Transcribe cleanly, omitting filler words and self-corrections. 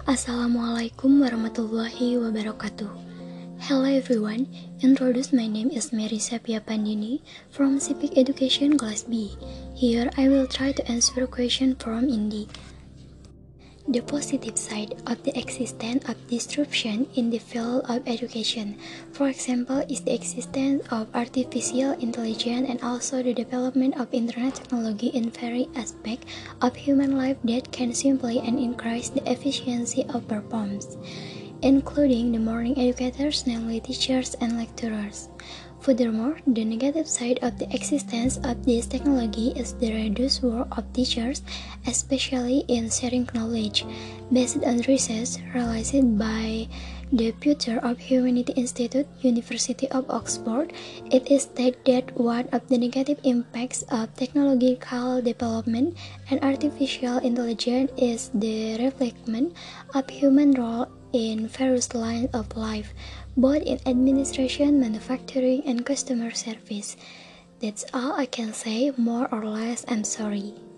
Assalamualaikum warahmatullahi wabarakatuh. Hello everyone, introduce my name is Mary Sapia Pandini from Civic Education Class B. Here I will try to answer a question from Indi. The positive side of the existence of disruption in the field of education, for example, is the existence of artificial intelligence and also the development of internet technology in various aspects of human life that can simply and increase the efficiency of performance, including the morning educators, namely teachers and lecturers. Furthermore, the negative side of the existence of this technology is the reduced work of teachers, especially in sharing knowledge. Based on research realized by the Future of Humanity Institute, University of Oxford, it is stated that one of the negative impacts of technological development and artificial intelligence is the reflection of human role in various lines of life, both in administration, manufacturing, and customer service. That's all I can say, more or less. I'm sorry.